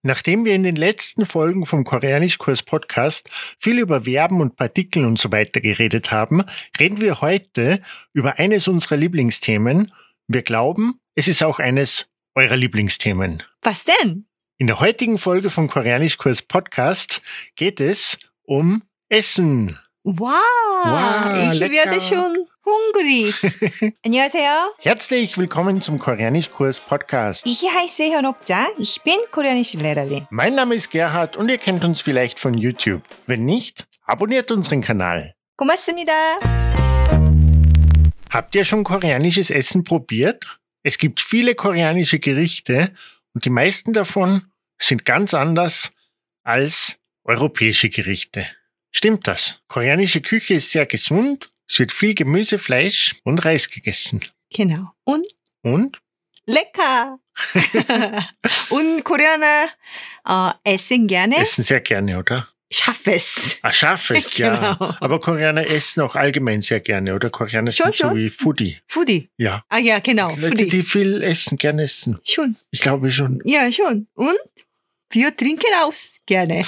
Nachdem wir in den letzten Folgen vom Koreanischkurs-Podcast viel über Verben und Partikel und so weiter geredet haben, reden wir heute über eines unserer Lieblingsthemen. Wir glauben, es ist auch eines eurer Lieblingsthemen. Was denn? In der heutigen Folge vom Koreanischkurs-Podcast geht es um Essen. Wow, ich lecker. werde schon hungrig. 안녕하세요. Herzlich willkommen zum Koreanischkurs-Podcast. Ich heiße 현옥자. Ich bin koreanische Lehrerin. Mein Name ist Gerhard und ihr kennt uns vielleicht von YouTube. Wenn nicht, abonniert unseren Kanal. 고맙습니다. Habt ihr schon koreanisches Essen probiert? Es gibt viele koreanische Gerichte und die meisten davon sind ganz anders als europäische Gerichte. Stimmt das? Koreanische Küche ist sehr gesund, es wird viel Gemüse, Fleisch und Reis gegessen. Genau. Und? Und? Und Koreaner essen gerne Essen sehr gerne, oder? scharfes. Scharfes, ja. Genau. Aber Koreaner essen auch allgemein sehr gerne, oder? Koreaner sind so Schon. wie Foodie. Foodie. Ja. Ah ja, genau. Leute, Foodie. die viel essen, gerne essen. Schon. Ich glaube schon. Ja, schon. Und wir trinken auch gerne.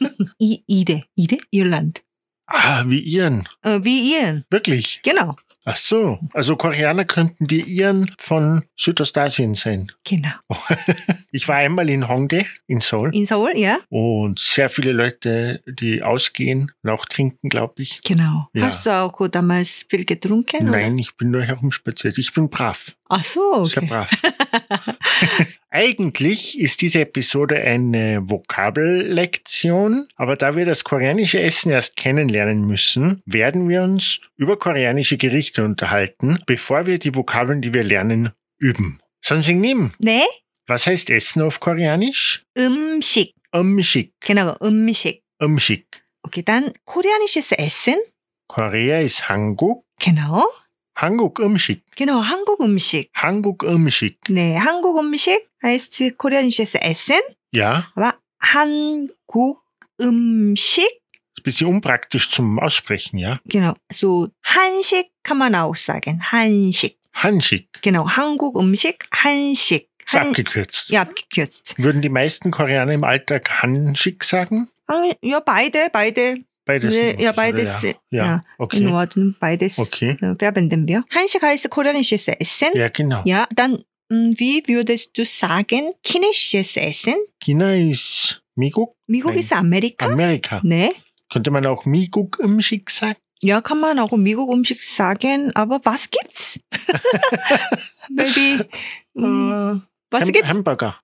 Irland. Wie Iren. Wie Iren. Wirklich? Genau. Ach so. Also Koreaner könnten die Iren von Südostasien sein. Genau. Ich war einmal in Hongdae, in Seoul. In Seoul, ja? Und sehr viele Leute, die ausgehen und auch trinken, glaube ich. Genau. Ja. Hast du auch damals viel getrunken? Nein, Oder? ich bin nur herumspaziert. Ich bin brav. Ach so, Sehr okay. brav. Eigentlich ist diese Episode eine Vokabellektion, aber da wir das koreanische Essen erst kennenlernen müssen, werden wir uns über koreanische Gerichte unterhalten, bevor wir die Vokabeln, die wir lernen, üben. 선생님, 네? was heißt Essen auf Koreanisch? 음식. 음식, genau, 음식. 음식. Okay, dann koreanisches Essen. Korea ist Hanguk, genau. Hanguk 음식, genau, 한국 음식. Hanguk 음식. 네, 한국 음식 heißt koreanisches Essen. Ja, Aber 한국 음식, ist ein bisschen unpraktisch zum Aussprechen, ja? genau, so 한식 kann man auch sagen. 한식. Hanshik, Genau, 한국 음식, 한식. ist abgekürzt. Ja, abgekürzt. Würden die meisten Koreaner im Alltag Hanshik sagen? Ja, beide. Beides. 네, in ja, Ordnung, beides. oder? Ja, In okay. Ordnung, beides Okay. verwenden wir. 한식 heißt koreanisches Essen. Ja, genau. Ja, dann, wie würdest du sagen, chinesisches Essen? China ist Miguk, 미국 Nein. ist Amerika. Amerika. 네. Könnte man auch Miguk 음식 sagen? Ja, kann man auch mi국 음식 sagen, aber was gibt's? Maybe, was gibt's? Hamburger.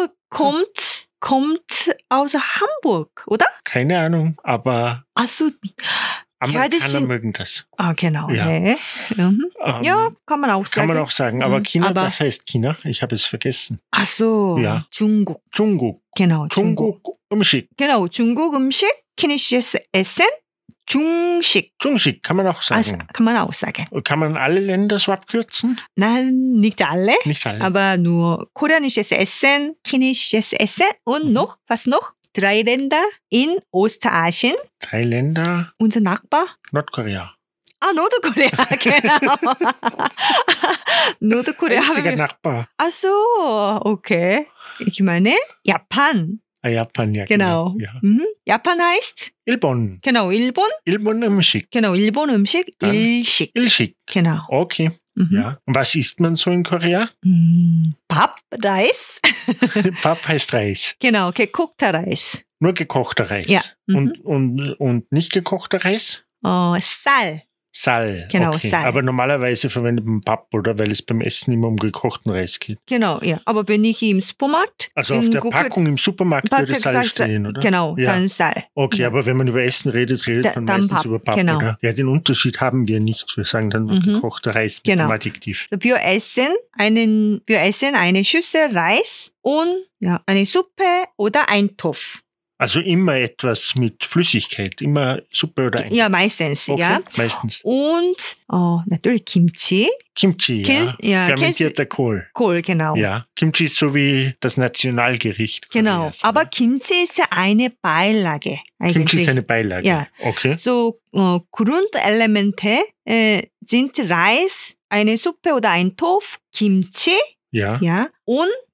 kommt aus Hamburg, oder? Keine Ahnung, aber Also, Amerikaner das sind- mögen das. genau. Ja. 네. Ja, kann man auch sagen. Kann man auch sagen. Aber Mhm, China, aber- was heißt China? Ich habe es vergessen. Ach so, Ja. 중국. Jungkook. genau, 중국. Jungkook 음식. genau, 중국 음식, chinesisches Essen, 중식. Jungshik kann man auch Also, sagen. kann man auch sagen. Kann man alle Länder so abkürzen? Nein, nicht alle, Nicht alle. aber nur koreanisches Essen, chinesisches Essen und noch, was noch? 3 Länder in Ostasien. 3 Länder, Unser Nachbar. Nordkorea. Nordkorea, genau. Nordkorea. Einziger Nachbar. Ach so, okay. Ich meine, Japan. Japan, ja. Genau. Ja. Mhm. Japan heißt, Ilbon. genau, Il본. Ilbon 음식. Genau, Il본 음식, Dann 일식. Ilshik. Genau. Okay. Mhm. Ja. Und was isst man so in Korea? Pap, Reis. Pap heißt Reis. Genau, gekochter Reis. Nur gekochter Reis. Ja. Mhm. Und nicht gekochter Reis? Sal. Sal. Genau, okay. Sal. Aber normalerweise verwendet man Pap, oder? Weil es beim Essen immer um gekochten Reis geht. Genau, ja. Aber wenn ich im Supermarkt. Also auf in der Google- Packung im Supermarkt würde Packung Sal sagt- stehen, oder? Genau, Ja. dann Sal. Okay, Ja. aber wenn man über Essen redet man Dann meistens Pap, über Pap, genau. oder? Ja, den Unterschied haben wir nicht. Wir sagen dann nur Mhm. gekochter Reis mit Genau. dem Adjektiv. Wir essen eine Schüssel Reis und ja, eine Suppe oder ein Topf. Also immer etwas mit Flüssigkeit, immer Suppe oder ein. Ja, meistens, Okay, ja. meistens. Und natürlich Kimchi. Kimchi, Ja, fermentierter Kohl. Kohl, genau. Ja, Kimchi ist so wie das Nationalgericht. Genau. Koreas, Aber oder? Kimchi ist ja eine Beilage eigentlich. Kimchi ist eine Beilage. Ja. Okay. So Grundelemente sind Reis, eine Suppe oder ein Topf, Kimchi, Ja. ja, und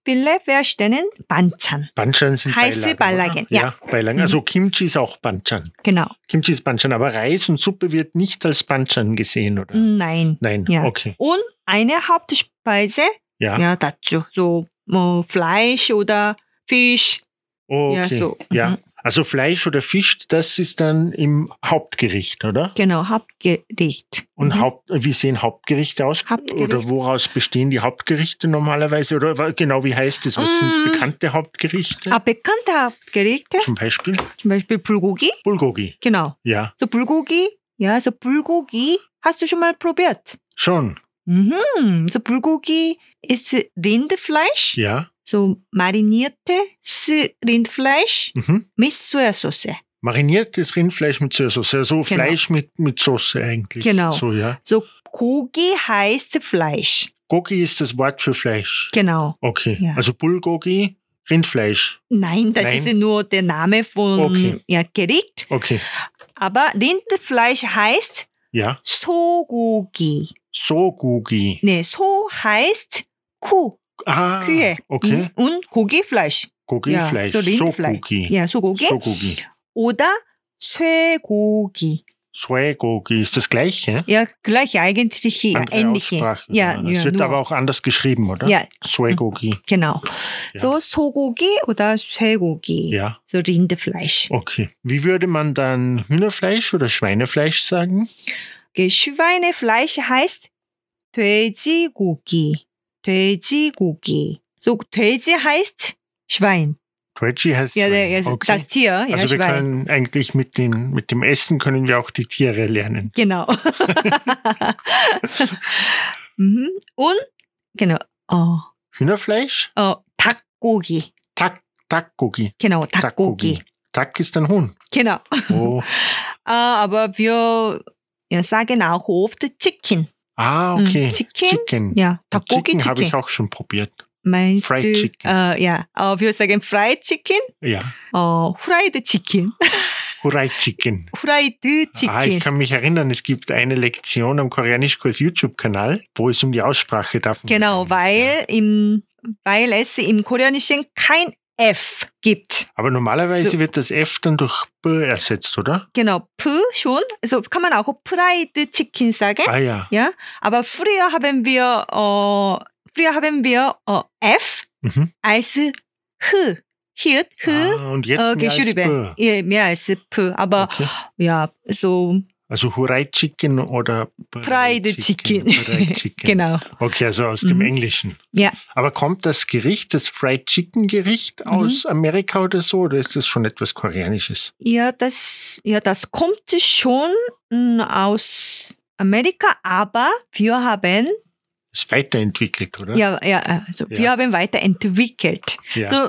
viele verstehen Banchan. Banchan sind Heiße Beilagen. Beilagen, Oder? ja. Beilagen. Also Kimchi ist auch Banchan. Genau. Kimchi ist Banchan, aber Reis und Suppe wird nicht als Banchan gesehen, oder? Nein. Nein, Ja. okay. Und eine Hauptspeise, Ja, ja, dazu. So Fleisch oder Fisch. okay. Ja, so. Ja. Mhm. Also Fleisch oder Fisch, das ist dann im Hauptgericht, oder? Genau, Hauptgericht. Und Mhm. wie sehen Hauptgerichte aus? Hauptgericht. Oder woraus bestehen die Hauptgerichte normalerweise? Oder genau, wie heißt es? Was sind bekannte Hauptgerichte? bekannte Hauptgerichte, Zum Beispiel zum Beispiel Bulgogi. Bulgogi. Genau. Ja, So Bulgogi, ja, so Bulgogi hast du schon mal probiert? schon. Mhm. So Bulgogi ist Rindfleisch, Ja. so mariniertes Rindfleisch Mhm. mit Sojasauce. Mariniertes Rindfleisch mit Sojasauce. Also Genau. Fleisch mit Soße eigentlich. Genau. So, ja. So Gogi heißt Fleisch. Gogi ist das Wort für Fleisch. Genau. Okay. Ja. Also Bulgogi, Rindfleisch. Nein, das Nein. ist nur der Name von Okay. Gericht. Okay. Aber Rindfleisch heißt Ja. Sogogi. Sogogi. Nee, So heißt Kuh, Ah, Kühe. okay. Und Gogi-Fleisch. Gogi-Fleisch. so Rindfleisch. Sogogi. Ja, Sogogi. Sogogi. Oder 쇠고기. Soegogi ist das gleiche. Ja, gleich eigentlich, ja, Andere ähnliche. Aussprache. Ja, Es ja, wird nur. aber auch anders geschrieben, oder? Ja, Soegogi. genau. Ja. So 소고기 oder 쇠고기. Ja, So Rindfleisch. okay. Wie würde man dann Hühnerfleisch oder Schweinefleisch sagen? Okay, Schweinefleisch heißt 돼지고기. 돼지고기. So 돼지 heißt Schwein. Twedgy heißt Ja, Schwein. also das Tier, ja, Also wir Schwein. können eigentlich mit dem Essen können wir auch die Tiere lernen. Genau. Mhm. Und genau. Hühnerfleisch? 닭고기. Takgogi. Genau, 닭고기. Tak ist ein Huhn. Genau. Oh. Aber wir sagen auch oft Chicken. Ah, okay. Chicken. Ja, 닭고기 Chicken habe ich Chicken. auch schon probiert. Meinst Fried du? Chicken. Ja, wir sagen Fried Chicken. Ja. Fried Chicken. Hurai Chicken. Fried Ich Chicken. kann mich erinnern, es gibt eine Lektion am Koreanischkurs YouTube-Kanal, wo es um die Aussprache davon Genau, gegangen ist, weil es im Koreanischen kein F gibt. Aber normalerweise So. wird das F dann durch B ersetzt, oder? Genau, P schon. Also kann man auch Fried Chicken sagen. Ah ja. Ja, aber früher haben wir F Mhm. als H. Hier, H Und jetzt mehr als geschrieben. B. Ja, mehr als P. Aber Okay. ja, so Also Hurai Chicken oder Fried Chicken. Hurai Chicken. Genau. Okay, also aus dem Mhm. Englischen. Ja. Aber kommt das Gericht, das Fried Chicken Gericht aus Amerika oder so, oder ist das schon etwas Koreanisches? Ja, das kommt schon aus Amerika, aber wir haben, Ist weiterentwickelt, oder? also wir Ja. haben weiterentwickelt. Ja. So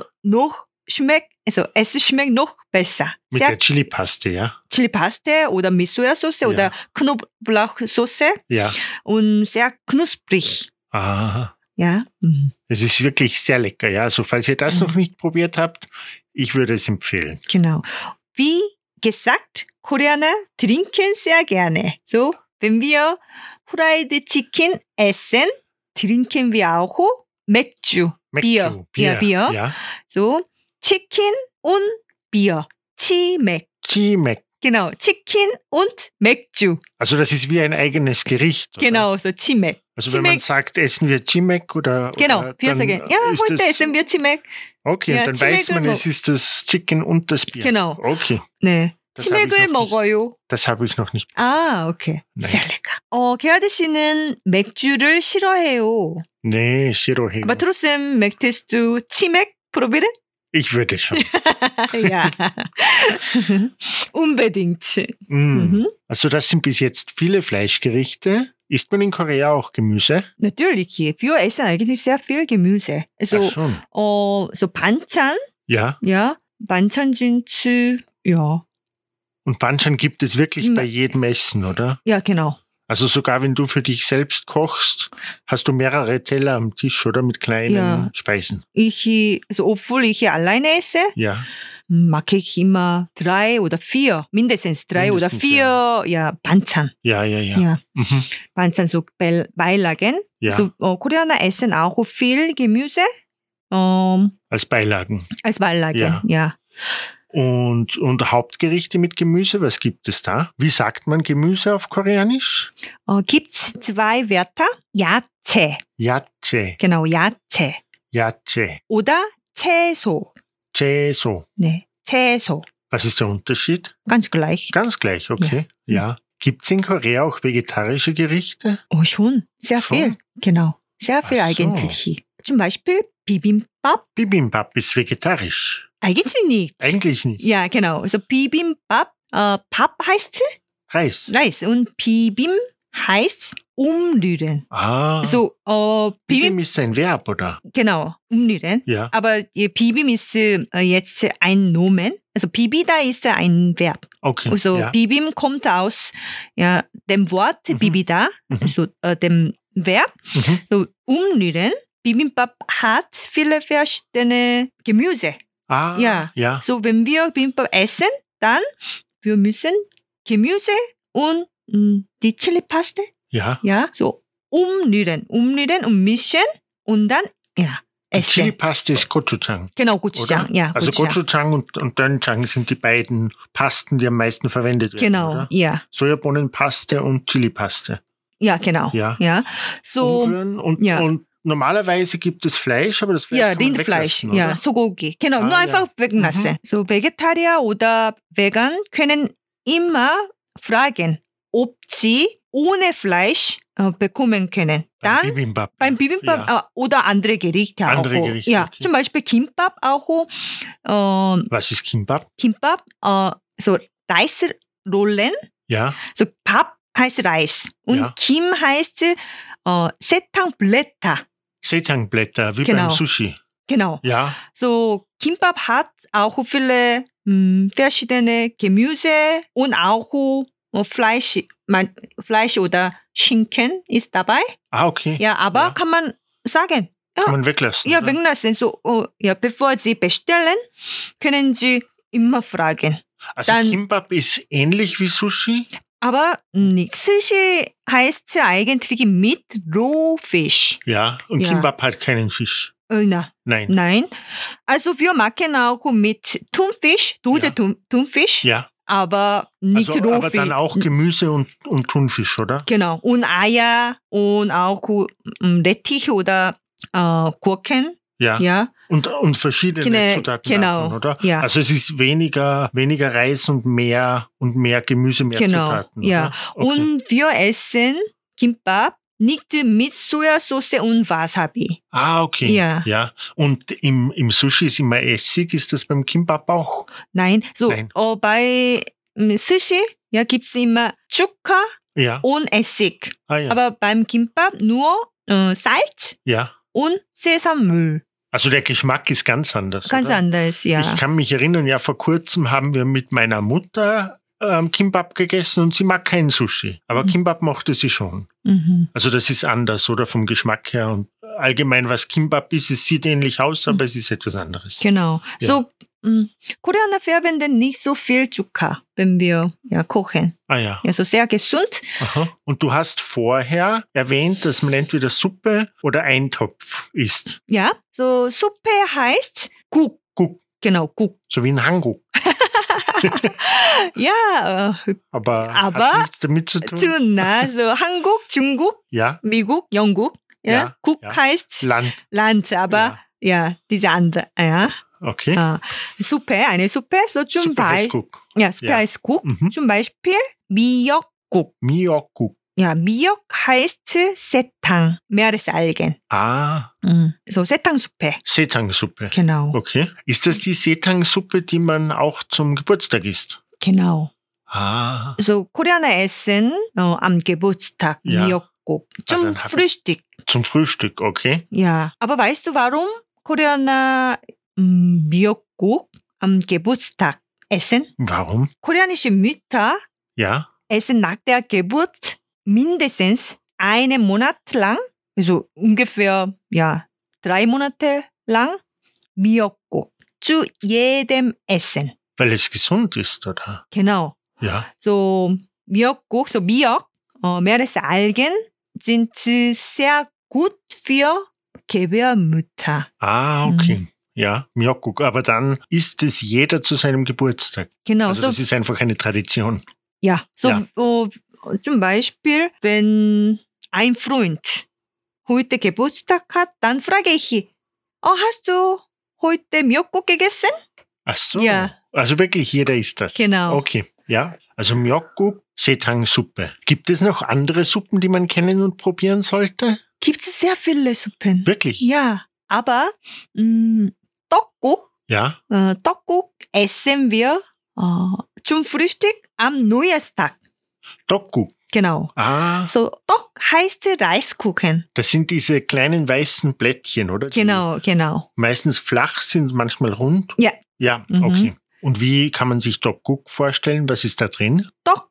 es schmeckt noch besser. Mit Sehr der Chili-Paste, ja? Chili-Paste oder mit Sojasauce Ja. oder Knoblauchsoße Ja. und sehr knusprig. Aha. Ja. Mhm. Es ist wirklich sehr lecker, ja. Also falls ihr das noch nicht probiert habt, ich würde es empfehlen. Genau. Wie gesagt, Koreaner trinken sehr gerne. So, wenn wir Fried Chicken essen, trinken wir auch 맥주, Bier. Ja, Bier. Ja. So, Chicken und Bier. 치맥. Chimek. Genau, Chicken und 맥주. Also das ist wie ein eigenes Gericht. Oder? Genau, so 치맥. Also wenn man Chimek. sagt, essen wir Chimek oder Genau, oder wir dann sagen, ja, ist heute das, essen wir 치맥. Okay, ja, und dann weiß man, Chimek을 es ist das Chicken und das Bier. Genau. Okay, 네, Das habe ich 치맥을 noch nicht. 먹어요. das habe ich noch nicht. 아, 오케이. 네. sehr lecker. 게하드 씨는 맥주를 싫어해요. Nee, Shirohei. Aber trotzdem möchtest du 치맥 probieren? Ich würde schon. ja. Unbedingt. Mm. Also das sind bis jetzt viele Fleischgerichte. Isst man in Korea auch Gemüse? Natürlich, wir essen eigentlich sehr viel Gemüse. Also, Ach schon. so 반찬, Ja. ja, 반찬 sind, ja, Und Banchan gibt es wirklich Immer. bei jedem Essen, oder? ja, genau. Also sogar wenn du für dich selbst kochst, hast du mehrere Teller am Tisch, oder? Mit kleinen Ja. Speisen. Also, obwohl ich alleine esse, Ja. mag ich immer 3 oder 4, mindestens 3 oder Mindestens, 4, ja, 반찬. Ja. Ja, Mhm. 반찬, so Beilagen. Ja. So, Koreaner essen auch viel Gemüse. Als Beilagen. als Beilage. Ja. Und Hauptgerichte mit Gemüse, was gibt es da? Wie sagt man Gemüse auf Koreanisch? Gibt's zwei Wörter? 야채. Yache, genau, 야채. Yache, oder 채소. Cheso. 네, 채소. Was ist der Unterschied? ganz gleich. Ganz gleich, okay. Ja. Gibt es in Korea auch vegetarische Gerichte? Oh, schon. Sehr Schon? viel. Genau. Sehr viel Ach so. eigentlich. Zum Beispiel Bibimbap. Bibimbap ist vegetarisch. Eigentlich nicht. Eigentlich nicht. Ja, genau. Also Bibimbap, Pap heißt Reis. Reis und Bibim heißt umrühren. Ah. So, Bibim Bibim, ist ein Verb, oder? genau, umrühren. Ja. Aber Bibim ist jetzt ein Nomen. Also Bibi, da ist ein Verb. Okay. Also ja. Bibim kommt aus dem Wort Mhm. Bibida, Mhm. also dem Verb. Mhm. So umrühren. Bibimbap hat viele verschiedene Gemüse. Ah. Ja. Ja. So, wenn wir Bibimbap essen, dann wir müssen Gemüse und die Chili-Paste, Ja. ja, so umrühren und mischen und dann, ja, Die essen. Chili-Paste ist Gochujang. Genau, Gochujang, ja, Also Gochujang. Gochujang und Doenjang sind die beiden Pasten, die am meisten verwendet werden. Genau, Oder? ja, Sojabohnenpaste und Chilipaste. ja, genau, Ja. ja. So, Umrühren und, ja. und normalerweise gibt es Fleisch, aber das Fleisch ja, kann man Rindfleisch, weglassen, ja, oder? Sogogi. Genau, Ah, nur ja. einfach weglassen. So, Vegetarier oder Vegan können immer fragen, ob sie ohne Fleisch bekommen können. Beim Dann Bibimbap. beim Bibimbap Ja. oder andere Gerichte Andere auch. Gerichte, Ja, okay. zum Beispiel Kimbap auch. Was ist Kimbap? Kimbap, so Reisrollen. Ja. So Pap heißt Reis und Ja. Kim heißt Setangblätter. Setangblätter, wie Genau. beim Sushi. Genau. Ja. So Kimbap hat auch viele verschiedene Gemüse und auch Fleisch, Fleisch oder Schinken ist dabei. Ah, okay. Ja, aber Ja. kann man sagen, Kann man weglassen. ja, oder? weglassen. So, bevor Sie bestellen, können Sie immer fragen. Also dann- Kimbap ist ähnlich wie Sushi? Aber nicht. Sushi heißt eigentlich mit Rohfisch. Ja. Und Ja. Kimbap hat keinen Fisch. Nein. Nein. Also wir machen auch mit Thunfisch, Dose Ja. Thunfisch, Ja. aber nicht Also, Rohfisch. aber dann auch Gemüse und Thunfisch, oder? Genau. Und Eier und auch Rettich oder Gurken. Ja. Ja. Und verschiedene Zutaten genau. davon, oder? Ja. Also es ist weniger Reis und mehr Gemüse, mehr Genau. Zutaten. Ja. Oder? Okay. Und wir essen Kimbap nicht mit Sojasauce und Wasabi. Ah, okay. Ja. Und im Sushi ist immer Essig. Ist das beim Kimbap auch? Nein. So, Nein. bei Sushi gibt es immer Zucker Ja. und Essig. Ah, ja. Aber beim Kimbap nur Salz Ja. und Sesammüll. Also der Geschmack ist ganz anders. Ganz oder? anders, ja. Ich kann mich erinnern, ja, vor kurzem haben wir mit meiner Mutter Kimbap gegessen und sie mag kein Sushi. Aber Mhm. Kimbap mochte sie schon. Mhm. Also das ist anders, oder vom Geschmack her. Und allgemein, was Kimbap ist, es sieht ähnlich aus, aber es ist etwas anderes. Genau. Ja. So, Koreaner verwenden nicht so viel Zucker, wenn wir kochen. Ah ja. Ja, so sehr gesund. Aha. Und du hast vorher erwähnt, dass man entweder Suppe oder Eintopf isst. Ja, so Suppe heißt Guk. Guk. Genau, Guk. So wie ein Hanguk. Ja, Aber Aber hat nichts damit zu tun. Chuna, so Hanguk, Junguk, Ja, Mi국, 영국. Ja, Ja, Guk ja. heißt Land. Land, aber diese andere, ja. Okay. Suppe, eine Suppe, so zum Suppe heißt Beispiel. Guk. Ja, Suppe Ja. heißt Guk. Mhm. Zum Beispiel Mi역국. Miokguk. Ja, Mi역 heißt Seetang, Meeresalgen. Ah, So Seetangsuppe, Setangsuppe. genau, Okay. Ist das die Setangsuppe, die man auch zum Geburtstag isst? genau. Ah, So Koreaner essen am Geburtstag Ja. Mi역국 zum dann hab- Frühstück. zum Frühstück, okay. Ja, aber weißt du, warum Koreaner Mi역국 am Geburtstag essen? Warum? Koreanische Mütter Ja. essen nach der Geburt mindestens einen Monat lang, also ungefähr 3 Monate lang Mi역국 zu jedem Essen. Weil es gesund ist, oder? Genau. Ja. So Mi역국, so Mi역, Meeresalgen sind sehr gut für 개별무타. Ah, okay. Ja, Myeokguk. Aber dann isst es jeder zu seinem Geburtstag. Genau, Also so, das ist einfach eine Tradition. ja, so, Ja. zum Beispiel, wenn ein Freund heute Geburtstag hat, dann frage ich, hast du heute Myeokguk gegessen? Ach so. Ja. Also wirklich jeder isst das. Genau. Okay, ja. Also Myeokguk, Sethang-Suppe. Gibt es noch andere Suppen, die man kennen und probieren sollte? Gibt es sehr viele Suppen. Wirklich? Ja, aber 떡국, Ja. 떡국 essen wir zum Frühstück am Neujahrstag. Tteokguk. Genau. Ah, So, 떡 heißt Reiskuchen. das sind diese kleinen weißen Blättchen, oder? Die Genau. meistens flach sind, manchmal rund. Ja. Ja, Mhm. okay. Und wie kann man sich Tteokguk vorstellen? Was ist da drin? 떡.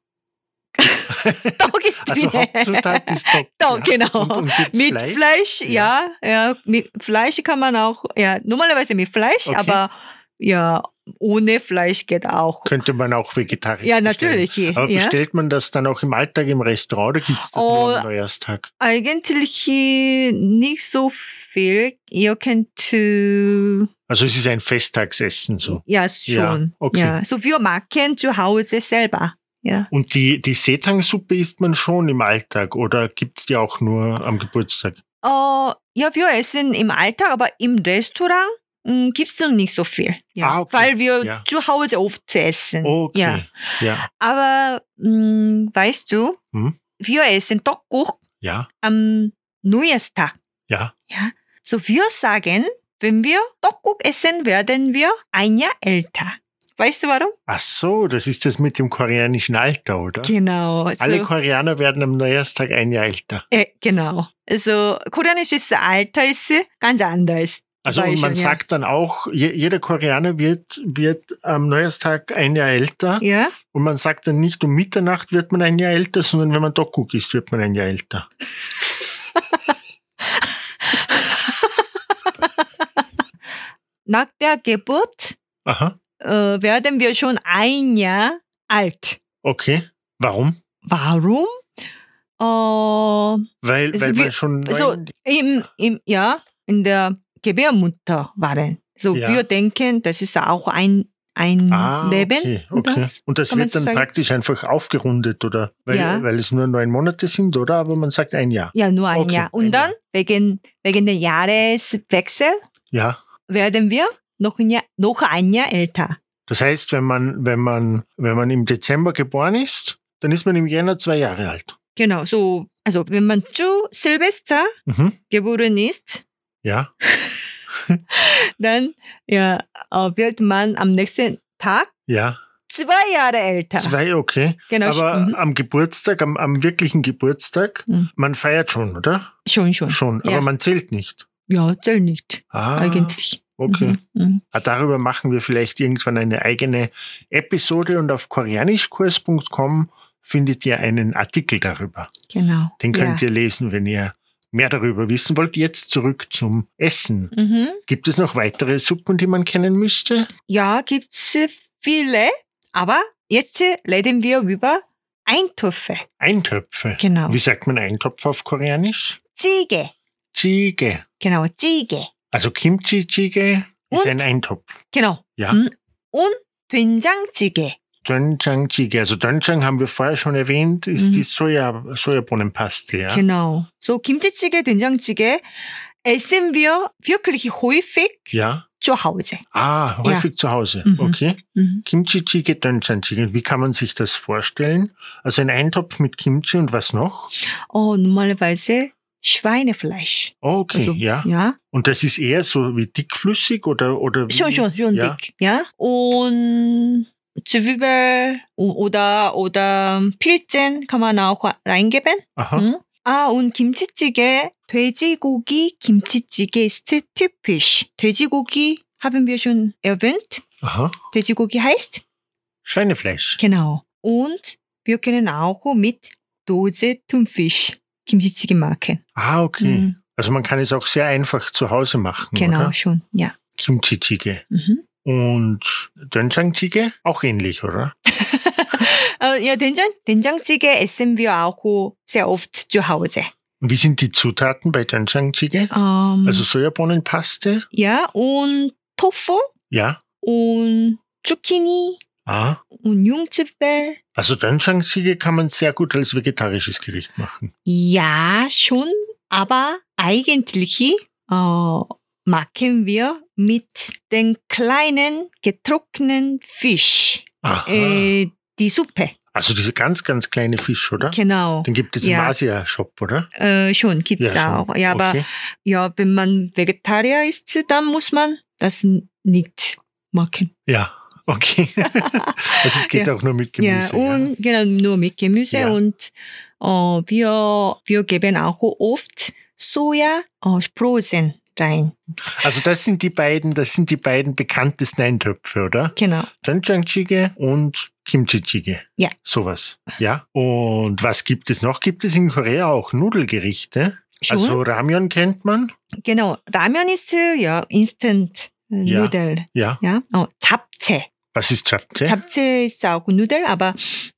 떡 ist Also drin. Hauptzutat ist Tteok. 떡, genau. Und gibt's Mit Fleisch, Ja. ja, mit Fleisch kann man auch, ja, normalerweise mit Fleisch, Okay. aber ja, ohne Fleisch geht auch. Könnte man auch vegetarisch Ja, bestellen. natürlich. Aber Ja. bestellt man das dann auch im Alltag im Restaurant oder gibt es das nur am Neujahrstag? Eigentlich nicht so viel. Ihr könnt, Also es ist ein Festtagsessen so. ja, schon. Ja, okay. Ja, so wir machen zu Hause selber. Ja. Und die Sethang-Suppe isst man schon im Alltag oder gibt es die auch nur am Geburtstag? Ja, wir essen im Alltag, aber im Restaurant gibt es noch nicht so viel. Ja. Ah, okay. Weil wir Ja. zu Hause oft essen. Okay. Ja. Ja. Aber weißt du, Hm? wir essen 떡국 Ja. am Neujahrstag. Ja. Ja. So wir sagen, wenn wir 떡국 essen, werden wir ein Jahr älter. Weißt du warum? Ach so, das ist das mit dem koreanischen Alter, oder? Genau. Alle Koreaner werden am Neujahrstag ein Jahr älter. Genau. Also koreanisches Alter ist ganz anders. Also und man Beispiel, sagt dann auch, jeder Koreaner wird am Neujahrstag ein Jahr älter. Ja. Und man sagt dann nicht, um Mitternacht wird man ein Jahr älter, sondern wenn man Tteokguk isst, wird man ein Jahr älter. Nach der Geburt Aha, werden wir schon ein Jahr alt. okay. Warum? Warum? Weil Also man wir- schon so in der Gebärmutter waren. So Ja. wir denken, das ist auch ein Leben. okay. oder? Und das Kann man wird so dann sagen? praktisch einfach aufgerundet, oder? Ja. Weil es nur 9 Monate sind, oder? Aber man sagt ein Jahr. Ja, nur ein Okay, Jahr. Und ein dann wegen der Jahreswechsel Ja. werden wir noch ein Jahr älter. Das heißt, wenn man im Dezember geboren ist, dann ist man im Jänner 2 Jahre alt. Genau, so, also wenn man zu Silvester Mhm. geboren ist, Ja. dann wird man am nächsten Tag Ja. 2 Jahre älter. 2, okay. Genau, Aber am Geburtstag, am wirklichen Geburtstag, Mhm. man feiert schon, oder? Schon. Schon, Ja. aber man zählt nicht. Ja, zählt nicht, Ah, eigentlich. okay. Mhm. Darüber machen wir vielleicht irgendwann eine eigene Episode und auf koreanischkurs.com findet ihr einen Artikel darüber. Genau. Den könnt ihr lesen, wenn ihr mehr darüber wissen wollt. Jetzt zurück zum Essen. Mhm. Gibt es noch weitere Suppen, die man kennen müsste? Ja, gibt's viele, aber jetzt reden wir über Eintöpfe. Eintöpfe. Genau. Wie sagt man Eintopf auf Koreanisch? 찌개. Jjigae. Genau, 찌개. Also Kimchi-Jjigae ist Und? ein Eintopf. Genau. Ja. Und 된장찌개. Doenjang-Jjigae. Also Doenjang haben wir vorher schon erwähnt, ist die Sojabohnenpaste. Ja? Genau. So 김치찌개, 된장찌개 essen wir wirklich häufig Ja. zu Hause. Ah, häufig zu Hause. Mhm. Okay. Mhm. Kimchi-Jjigae, Doenjang-Jjigae. Wie kann man sich das vorstellen? Also ein Eintopf mit Kimchi und was noch? Normalerweise Schweinefleisch. Okay, Also, ja. Ja. Und das ist eher so wie dickflüssig oder wie? Schon Ja. dick. Ja. Und Zwiebel oder Pilzen kann man auch reingeben. Aha. 응? und 김치찌개, 돼지고기 김치찌개 ist typisch. 돼지고기 haben wir schon erwähnt. Aha. 돼지고기 heißt? Schweinefleisch. Genau. Und wir können auch mit Dose Thunfisch 김치찌개 machen. Ah, okay. Mhm. Also man kann es auch sehr einfach zu Hause machen, Genau, oder? schon. Ja. Kimchi-Jjigae. Mhm. Und Doenjang-Jjigae? Auch ähnlich, oder? ja, 된장찌개 essen wir auch sehr oft zu Hause. Und wie sind die Zutaten bei Doenjang-jjigae? Also Sojabohnenpaste? Ja, und Tofu Ja. und Zucchini Ah. und Jungzwiebel. Also Doenjang-jjigae kann man sehr gut als vegetarisches Gericht machen. Ja, schon, aber eigentlich machen wir mit den kleinen getrockneten Fisch Aha. die Suppe. Also diese ganz, ganz kleine Fisch, oder? Genau. Den gibt es im Asia-Shop, oder? Schon, gibt's Ja, auch. schon. Ja, aber Okay. ja, wenn man Vegetarier ist, dann muss man das nicht machen. Ja, okay. Also es geht auch nur mit Gemüse. Ja, und genau, nur mit Gemüse. Ja. Und wir geben auch oft Sojasprossen rein. Also das sind die beiden bekanntesten Eintöpfe, oder? Genau. Doenjang-jjigae und Kimchi-jjigae. Ja. Sowas. Ja. Und was gibt es noch? Gibt es in Korea auch Nudelgerichte? Schon? Also Ramyeon kennt man. Genau. Ramen ist Instant Nudel. Ja. Ja. Japchae. Was ist Japchae? Japchae ist auch Nudel, aber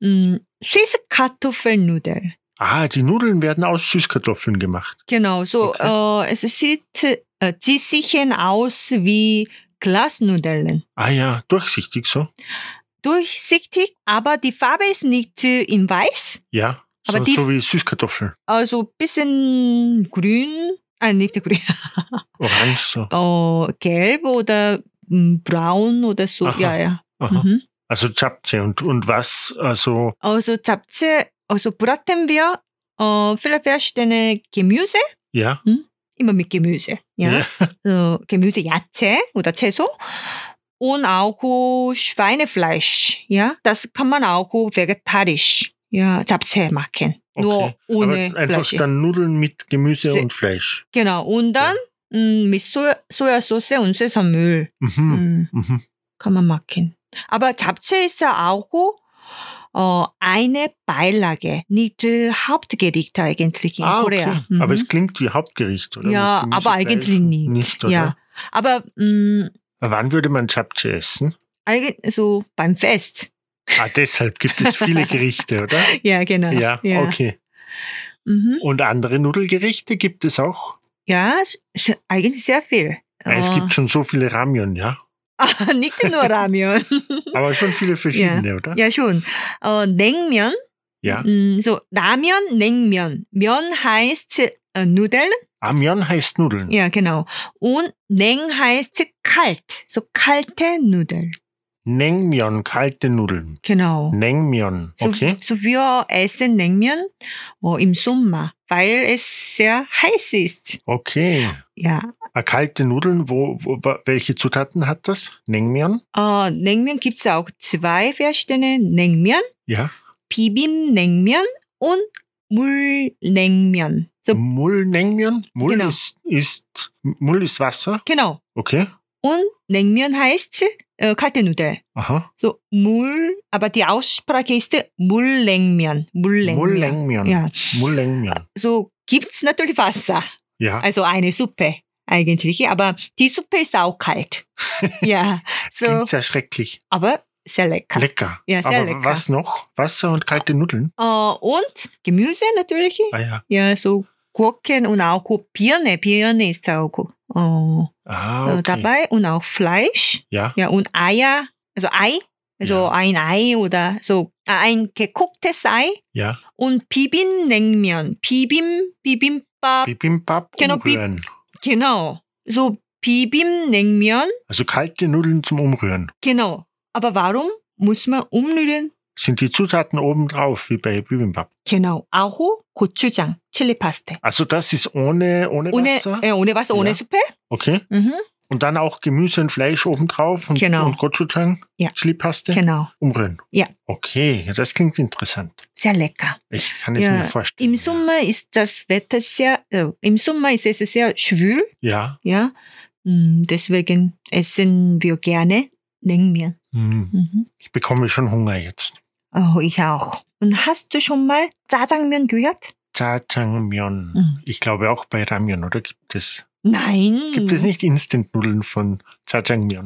Süßkartoffelnudel. Ah, die Nudeln werden aus Süßkartoffeln gemacht. Genau, so es sieht sicher aus wie Glasnudeln. Ah ja, durchsichtig so. Durchsichtig, aber die Farbe ist nicht in weiß, Ja, aber so wie Süßkartoffeln. also ein bisschen grün, nicht grün, Orange so. gelb oder braun oder so. Aha. Ja. Aha. Mhm. Also Japchae und was, also Japchae, braten wir viele verschiedene Gemüse, ja. immer mit Gemüse. Ja. Gemüse, 야채 oder 채소. Und auch Schweinefleisch, ja, das kann man auch vegetarisch, ja, Japchae machen. Nur ohne aber einfach Fleisch. dann Nudeln mit Gemüse und Fleisch. Genau, und dann mit Sojasauce und Sesamöl kann man machen. Aber Japchae ist ja auch eine Beilage, nicht Hauptgericht eigentlich in Korea. Okay. Aber es klingt wie Hauptgericht, oder? Ja, Mit Gemüse, aber eigentlich Fleisch nicht. oder? Ja, aber Wann würde man Japchae essen? eigentlich so beim Fest. Ah, deshalb gibt es viele Gerichte, oder? Ja, genau. Ja, okay. Mhm. Und andere Nudelgerichte gibt es auch? Ja, eigentlich sehr viel. Es gibt schon so viele Ramyeon, ja? Nicht nur Ramyeon. Aber schon viele verschiedene, oder? Ja, schon. Naengmyeon. Ja. So Ramyeon, Naengmyeon. Myeon heißt Nudeln. Ah, Myeon heißt Nudeln. Ja, genau. Und Naeng heißt kalt. So kalte Nudeln. Naengmyeon, kalte Nudeln. Genau. Naengmyeon, okay. So wir essen Naengmyeon im Sommer, weil es sehr heiß ist. Okay. Ja. Kalte Nudeln, welche Zutaten hat das? Naengmyeon? Naengmyeon gibt es auch zwei verschiedene Naengmyeon. Ja. Bibim-Naengmyeon und Mul-Naengmyeon. So, Mul-Naengmyeon? Mul Genau. Mul ist Wasser? genau. Okay. Und Naengmyeon heißt kalte Nudel. Aha. So aber die Aussprache ist Mul-Naengmyeon. Mul-Naengmyeon. Ja. Mul-Naengmyeon. So gibt's natürlich Wasser. Ja. Also eine Suppe eigentlich, aber die Suppe ist auch kalt. Ja. So, Klingt sehr schrecklich. aber sehr lecker. Lecker. Ja, sehr Aber lecker. was noch? Wasser und kalte Nudeln? Und Gemüse natürlich. Ah ja. Ja, so Gurken und auch Birne. Birne ist auch Okay. dabei und auch Fleisch. Ja. Ja, und Eier, also Ei, also ein Ei oder so ein gekochtes Ei Ja. und Bibimbap. Bibimbap, Bibimbap Genau, umrühren. genau. So Bibimbap, Also kalte Nudeln zum Umrühren. genau. Aber warum muss man umrühren? Sind die Zutaten oben drauf, wie bei Bibimbap? Genau, auch Gochujang, Chilipaste. Also das ist ohne Wasser? Ohne Wasser, ohne Ja. Suppe. Okay. Mhm. Und dann auch Gemüse und Fleisch oben drauf und, Genau. und Gochujang, Ja. Chilipaste, Genau, umrühren. Ja. Okay, ja, das klingt interessant. sehr lecker. Ich kann es mir vorstellen. Im Sommer ist das Wetter im Sommer ist es sehr schwül, Ja. ja. Deswegen essen wir gerne Naengmyeon. Mhm. Ich bekomme schon Hunger jetzt. Oh, ich auch. Und hast du schon mal Jjajangmyeon gehört? Jjajangmyeon. Ich glaube auch bei Ramyeon, oder gibt es? Nein. Gibt es nicht Instant-Nudeln von Jjajangmyeon?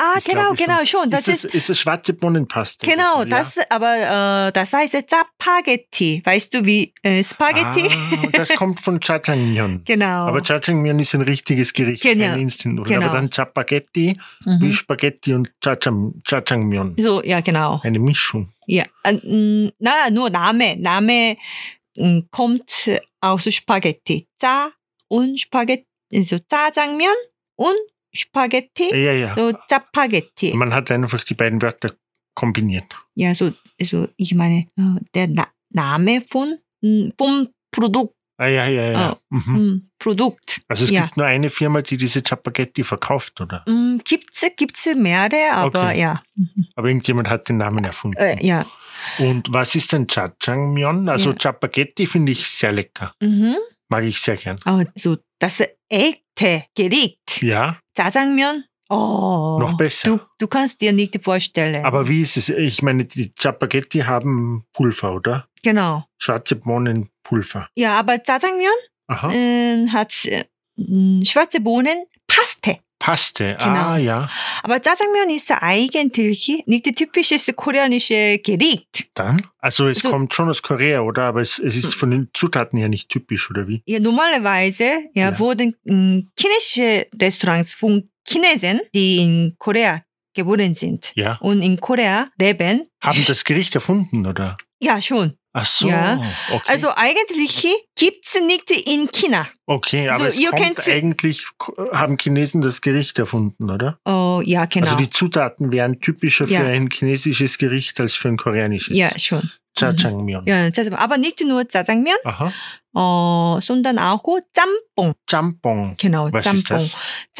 Ich genau, glaube genau, schon. Das ist das schwarze Bohnenpaste? genau, oder so, aber das heißt Spaghetti. Weißt du, wie Spaghetti? Das kommt von Jajangmyeon. Genau. Aber Jajangmyeon ist ein richtiges Gericht, Genau. kein Instant. Genau. Aber dann Chapaghetti, wie Spaghetti und Jajangmyeon. So, ja, genau. Eine Mischung. Ja, nur Name kommt aus Spaghetti. 짜 und Spaghetti, so 짜장면 und Spaghetti, Ja. so Spaghetti. Man hat einfach die beiden Wörter kombiniert. Ja, so ich meine, der Name vom Produkt. Ja. Produkt. Also es Ja. gibt nur eine Firma, die diese Chapaghetti verkauft, oder? Gibt's mehrere, aber Okay. ja. Aber irgendjemand hat den Namen erfunden. Ja. Und was ist denn Jajangmyeon? Also Ja. Chapaghetti finde ich sehr lecker. Mag ich sehr gern. So das echte Gericht. Ja, 짜장면. Oh, noch besser. Du kannst dir nicht vorstellen. Aber wie ist es? Ich meine, die Chapaghetti haben Pulver, oder? Genau. Schwarze Bohnenpulver. Ja, aber 짜장면 Aha. hat schwarze Bohnen, Paste. Paste. Genau. Ja. Aber 짜장면 ist eigentlich nicht typisches koreanische Gericht. Dann? Also es Also- kommt schon aus Korea, oder? Aber es ist von den Zutaten her nicht typisch, oder wie? Ja, normalerweise Ja. wurden chinesische Restaurants von Chinesen, die in Korea geboren sind Ja. und in Korea leben. Haben das Gericht erfunden, oder? Ja, schon. Ach so. Ja. Okay. Also eigentlich gibt's nicht in China. Okay, aber Also es ihr kommt kennt- eigentlich, haben Chinesen das Gericht erfunden, oder? Oh, ja, genau. Also die Zutaten wären typischer Ja. für ein chinesisches Gericht als für ein koreanisches. ja, schon. Jajangmyeon. Ja, aber nicht nur 짜장면, Aha. sondern auch 짬뽕. Jjampong. Genau, Was 짬뽕. ist das?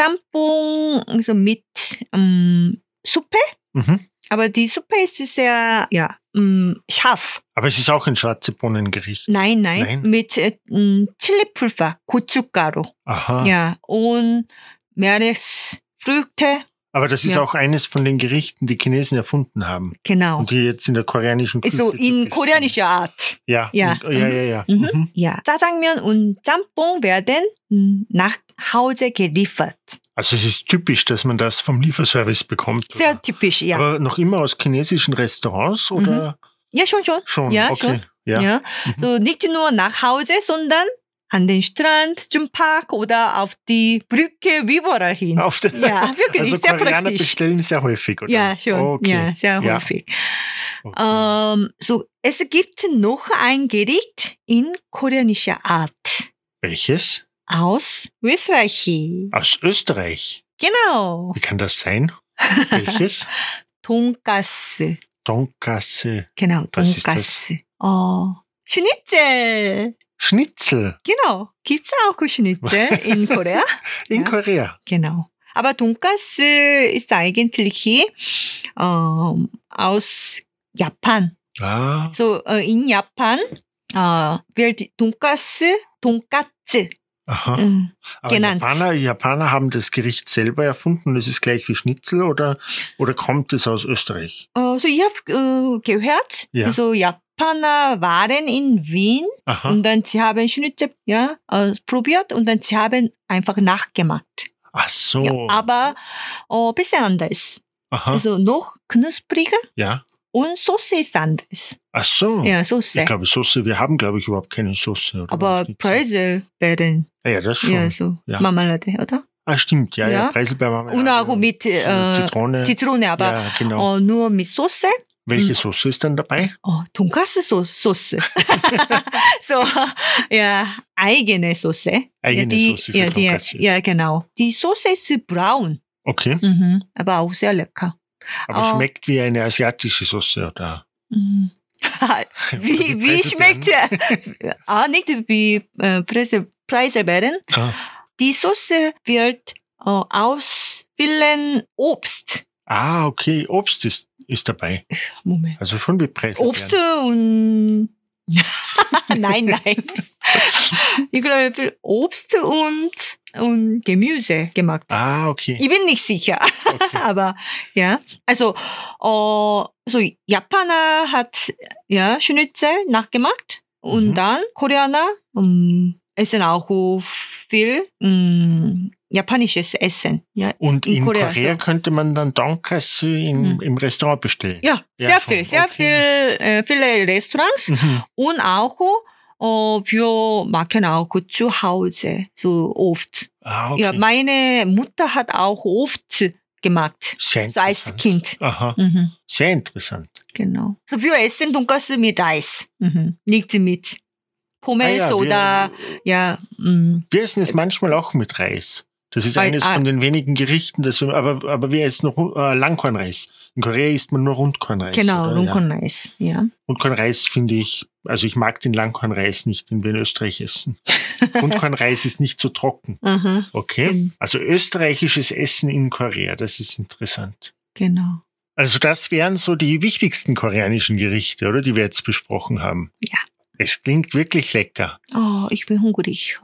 짬뽕 also mit Suppe, Mhm. aber die Suppe ist sehr scharf. Aber es ist auch ein schwarze Bohnengericht. Nein, Nein? mit Chilipulver, 고춧가루. Aha. Ja, und Meeresfrüchte, Aber das ist Ja. auch eines von den Gerichten, die Chinesen erfunden haben. genau. Und die jetzt in der koreanischen Küche So in typisch koreanischer Art. sind. Ja. Ja. Ja. Mhm. Mhm. Ja, 짜장면 und 짬뽕 werden nach Hause geliefert. Also es ist typisch, dass man das vom Lieferservice bekommt. Sehr oder? typisch, ja. Aber noch immer aus chinesischen Restaurants, oder? Ja, schon. Schon, Ja, okay. schon. Ja. Ja. Mhm. So nicht nur nach Hause, sondern an den Strand, zum Park oder auf die Brücke, überall hin. Auf der, Ja, wirklich, also sehr Koreaner praktisch. bestellen sehr häufig, oder? Ja, schon. Okay. Ja, sehr Ja. häufig. Okay. So, es gibt noch ein Gericht in koreanischer Art Welches? aus Österreich. Aus Österreich. Genau. Wie kann das sein? Welches? 돈가스. Donkasse. Genau, Was ist 돈가스. Schnitzel. Schnitzel Genau. Gibt's auch Schnitzel in Korea? in Ja. Korea. Genau. Aber 돈가스 ist eigentlich aus Japan. Ah, So in Japan wird 돈가스 aha. Aber genannt. Japaner haben das Gericht selber erfunden und es ist gleich wie Schnitzel, oder kommt es aus Österreich? So ich habe gehört, Ja. also Japaner waren in Wien Aha. und dann sie haben Schnitzel probiert und dann sie haben einfach nachgemacht. Ach so. Ja, aber bisschen anders. Aha. Also noch knuspriger Ja. und Soße ist anders. Ach so. Ja, Soße. Ich glaube, Soße, wir haben, glaube ich, überhaupt keine Soße. Oder Aber Schnitzel. Preise werden Ja, das schon. ja so Ja. Marmelade, oder? Ah, stimmt. Ja. Ja. Preiselbeermarmelade Und auch mit Zitrone. Zitrone, aber Ja, genau. nur mit Soße. Welche Soße ist dann dabei? 돈가스 Soße. So, ja, eigene Soße. Eigene ja, Soße für ja, Tonkatsu. ja, genau. Die Soße ist braun, Okay. aber auch sehr lecker. Aber Oh. schmeckt wie eine asiatische Soße, oder? Mhm. wie schmeckt nicht wie Preiselbeeren. Ah. Die Soße wird aus vielen Obst. Ah, okay. Obst ist dabei. Moment. Also schon wie Preiselbeeren. Obst und nein. Ich glaube Obst und Gemüse gemacht. Ah, okay. Ich bin nicht sicher, okay. aber ja. Also so Japaner hat ja Schnitzel nachgemacht und Mhm. dann Koreaner essen auch viel japanisches Essen. Ja, Und in Korea so. könnte man dann Donkasu im Restaurant bestellen. Ja, sehr viel, viele Restaurants und auch wir machen auch zu Hause so oft. Okay. Ja, meine Mutter hat auch oft gemacht, Sehr so als Kind. Aha, sehr interessant. Genau. So wir essen Donkasu mit Reis, nicht mit Pommes oder Wir essen es manchmal auch mit Reis. Das ist eines von den wenigen Gerichten, aber wir essen Langkornreis. In Korea isst man nur Rundkornreis. Genau, Rundkornreis, ja. Rundkornreis finde ich, also ich mag den Langkornreis nicht, den wir in Österreich essen. Rundkornreis ist nicht so trocken. Okay, also österreichisches Essen in Korea, das ist interessant. Genau. Also das wären so die wichtigsten koreanischen Gerichte, oder, die wir jetzt besprochen haben. Ja. Es klingt wirklich lecker. Oh, ich bin hungrig.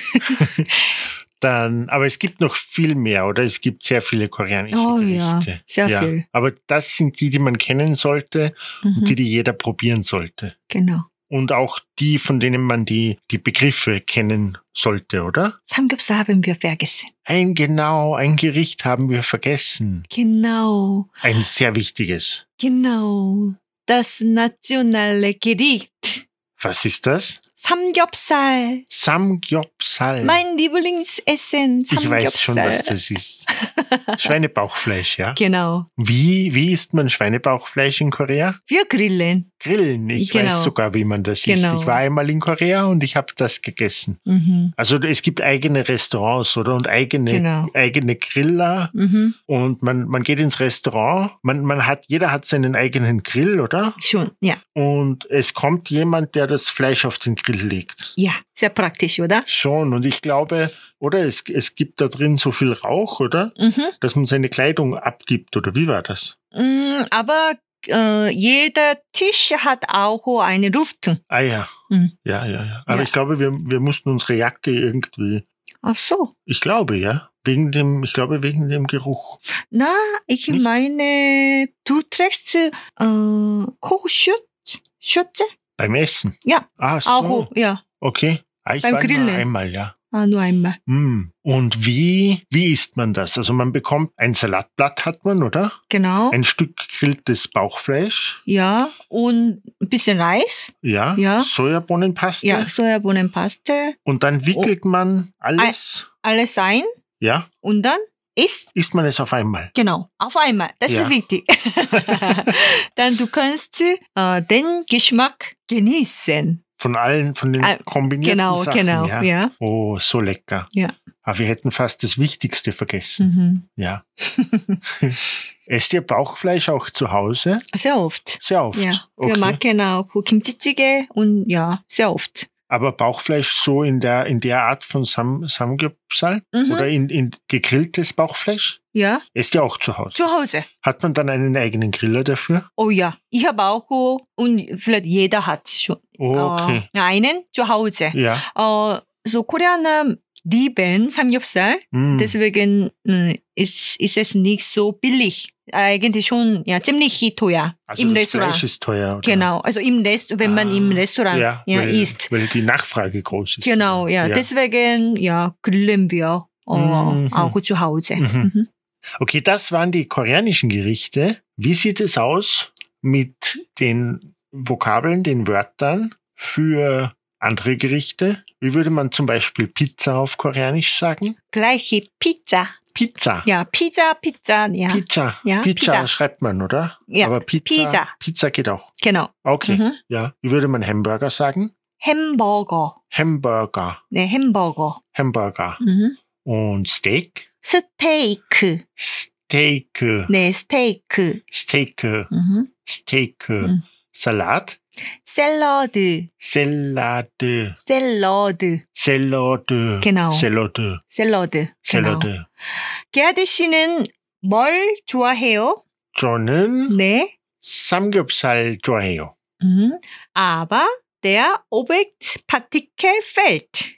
Aber es gibt noch viel mehr, oder? Es gibt sehr viele koreanische Gerichte. Ja, sehr viel. Aber das sind die man kennen sollte und die jeder probieren sollte. Genau. Und auch die, von denen man die Begriffe kennen sollte, oder? Samgyeopsal haben wir vergessen. Ein Gericht haben wir vergessen. Genau. Ein sehr wichtiges. Genau. Das nationale Gericht. Was ist das? Samgyeopsal. Samgyeopsal. Mein Lieblingsessen. Samgyeopsal. Ich weiß schon, was das ist. Schweinebauchfleisch, ja? Genau. Wie isst man Schweinebauchfleisch in Korea? Wir grillen. Grillen. Ich weiß sogar, wie man das isst. Ich war einmal in Korea und ich habe das gegessen. Also es gibt eigene Restaurants, oder? Und eigene Griller. Und man geht ins Restaurant. Jeder hat seinen eigenen Grill, oder? Schon, ja. Und es kommt jemand, der das Fleisch auf den Grill legt. Ja, sehr praktisch, oder? Schon. Und ich glaube, oder es gibt da drin so viel Rauch, oder? Dass man seine Kleidung abgibt, oder wie war das? Aber jeder Tisch hat auch eine Lüftung. Ah ja. Ja. Aber ich glaube, wir mussten unsere Jacke irgendwie... Ach so. Ich glaube, ja. Wegen dem Geruch. Na, ich meine, du trägst Kochschürze? Beim Essen? Ja. Ah, so. Auch, ja. Okay. Ich Beim war Grillen. nur einmal, ja. Nur einmal. Und wie isst man das? Also man bekommt ein Salatblatt, hat man, oder? Genau. Ein Stück gegrilltes Bauchfleisch. Ja, und ein bisschen Reis. Ja. Sojabohnenpaste. Ja, Sojabohnenpaste. Und dann wickelt man alles. Alles ein. Ja. Und dann isst man es auf einmal. Genau, auf einmal. Das ist wichtig. Dann du kannst den Geschmack genießen. Von den kombinierten Sachen. Genau, ja. Oh, so lecker. Ja. Aber wir hätten fast das Wichtigste vergessen. Ja. Esst ihr Bauchfleisch auch zu Hause? Sehr oft. Sehr oft? Ja. Okay. Wir machen auch Kimchi-Jjigae und ja, sehr oft. Aber Bauchfleisch so in der Art von Samgyeopsal? Oder in gegrilltes Bauchfleisch? Ja. Esst ihr auch zu Hause? Zu Hause. Hat man dann einen eigenen Griller dafür? Oh ja, ich habe auch und vielleicht jeder hat schon okay. einen zu Hause. Ja. So Koreaner lieben Samgyeopsal, deswegen ist es nicht so billig. Eigentlich schon ziemlich teuer also im das Restaurant. Fleisch ist teuer, oder? Genau, also wenn man im Restaurant isst. Weil die Nachfrage groß ist. Genau, ja. Deswegen grillen wir auch zu Hause. Okay, das waren die koreanischen Gerichte. Wie sieht es aus mit den Vokabeln, den Wörtern für andere Gerichte? Wie würde man zum Beispiel Pizza auf Koreanisch sagen? Gleiche Pizza. Pizza. Ja, Pizza. Ja. Pizza. Ja, Pizza schreibt man, oder? Ja, aber Pizza geht auch. Genau. Okay, ja. Wie würde man Hamburger sagen? Hamburger. Ne, Hamburger. Hamburger. Und Steak? Steak. Ne, Steak. Steak. Salat? 샐러드. Genau. 샐러드. 게아드 씨는 뭘 좋아해요? 저는 네. 삼겹살 좋아해요. Aber der Objektpartikel fehlt.